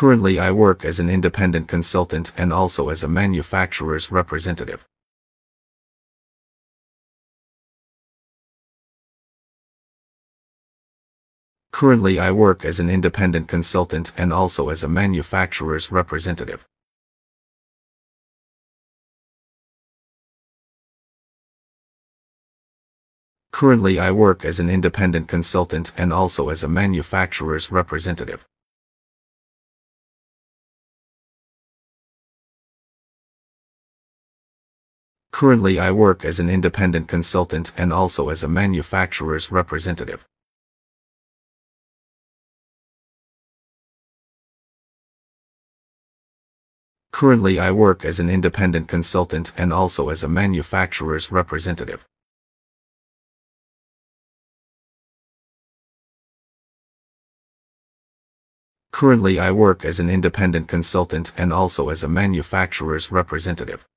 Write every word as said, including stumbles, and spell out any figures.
Currently I work as an independent consultant and also as a manufacturer's representative. Currently I work as an independent consultant and also as a manufacturer's representative. Currently I work as an independent consultant and also as a manufacturer's representative. Currently I work as an independent consultant and also as a manufacturer's representative. Currently I work as an independent consultant and also as a manufacturer's representative. Currently I work as an independent consultant and also as a manufacturer's representative.